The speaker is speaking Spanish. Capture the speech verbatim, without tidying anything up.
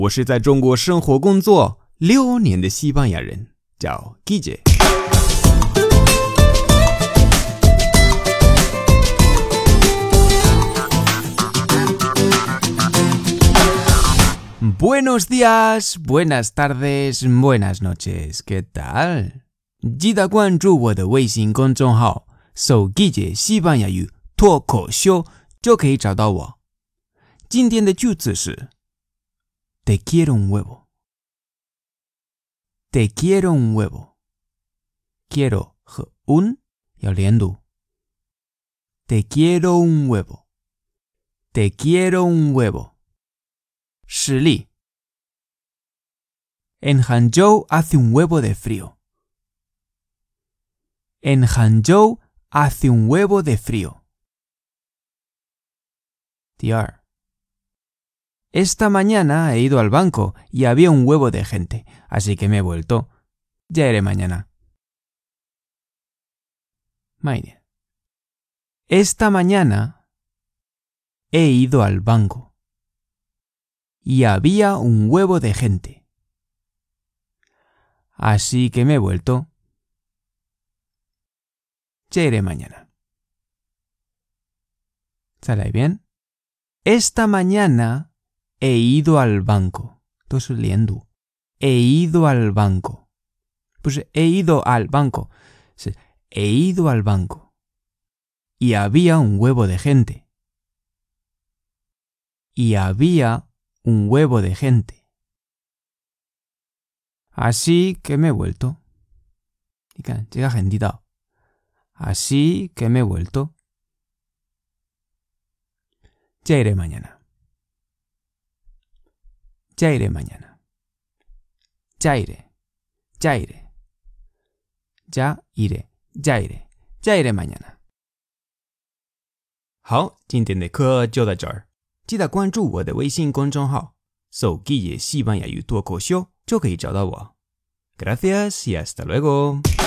我是在中国生活工作六年的西班牙人，叫 Guille。Buenos días, buenas tardes, buenas noches, ¿qué tal? 记得关注我的微信公众号，搜 Guille 西班牙语脱口秀就可以找到我。今天的句子是 Te quiero un huevo. Te quiero un huevo. Quiero 和 un 要连读。Te quiero un huevo. Te quiero un huevo. 实例 En Hangzhou hace un huevo de frío. En Hangzhou hace un huevo de frío. 第二 Esta mañana he ido al banco y había un huevo de gente, así que me he vuelto. Ya iré mañana. 慢一点 Esta mañana he ido al banco y había un huevo de gente, así que me he vuelto. Ya iré mañana. 再来一遍 Esta mañana he ido al banco. 都是连读 He ido al banco. 不是 he ido al banco. 是 he ido al banco. Y había un huevo de gente. Y había un huevo de gente. Así que me he vuelto. 你看这个很地道 Así que me he vuelto. Ya iré mañana. Ya iré mañana. Ya iré. Ya iré. Ya iré. Ya iré. Ya iré mañana. 好，今天的课就到这儿。记得关注我的微信公众号，搜 Guille 西班牙语脱口秀就可以找到我。Gracias y hasta luego.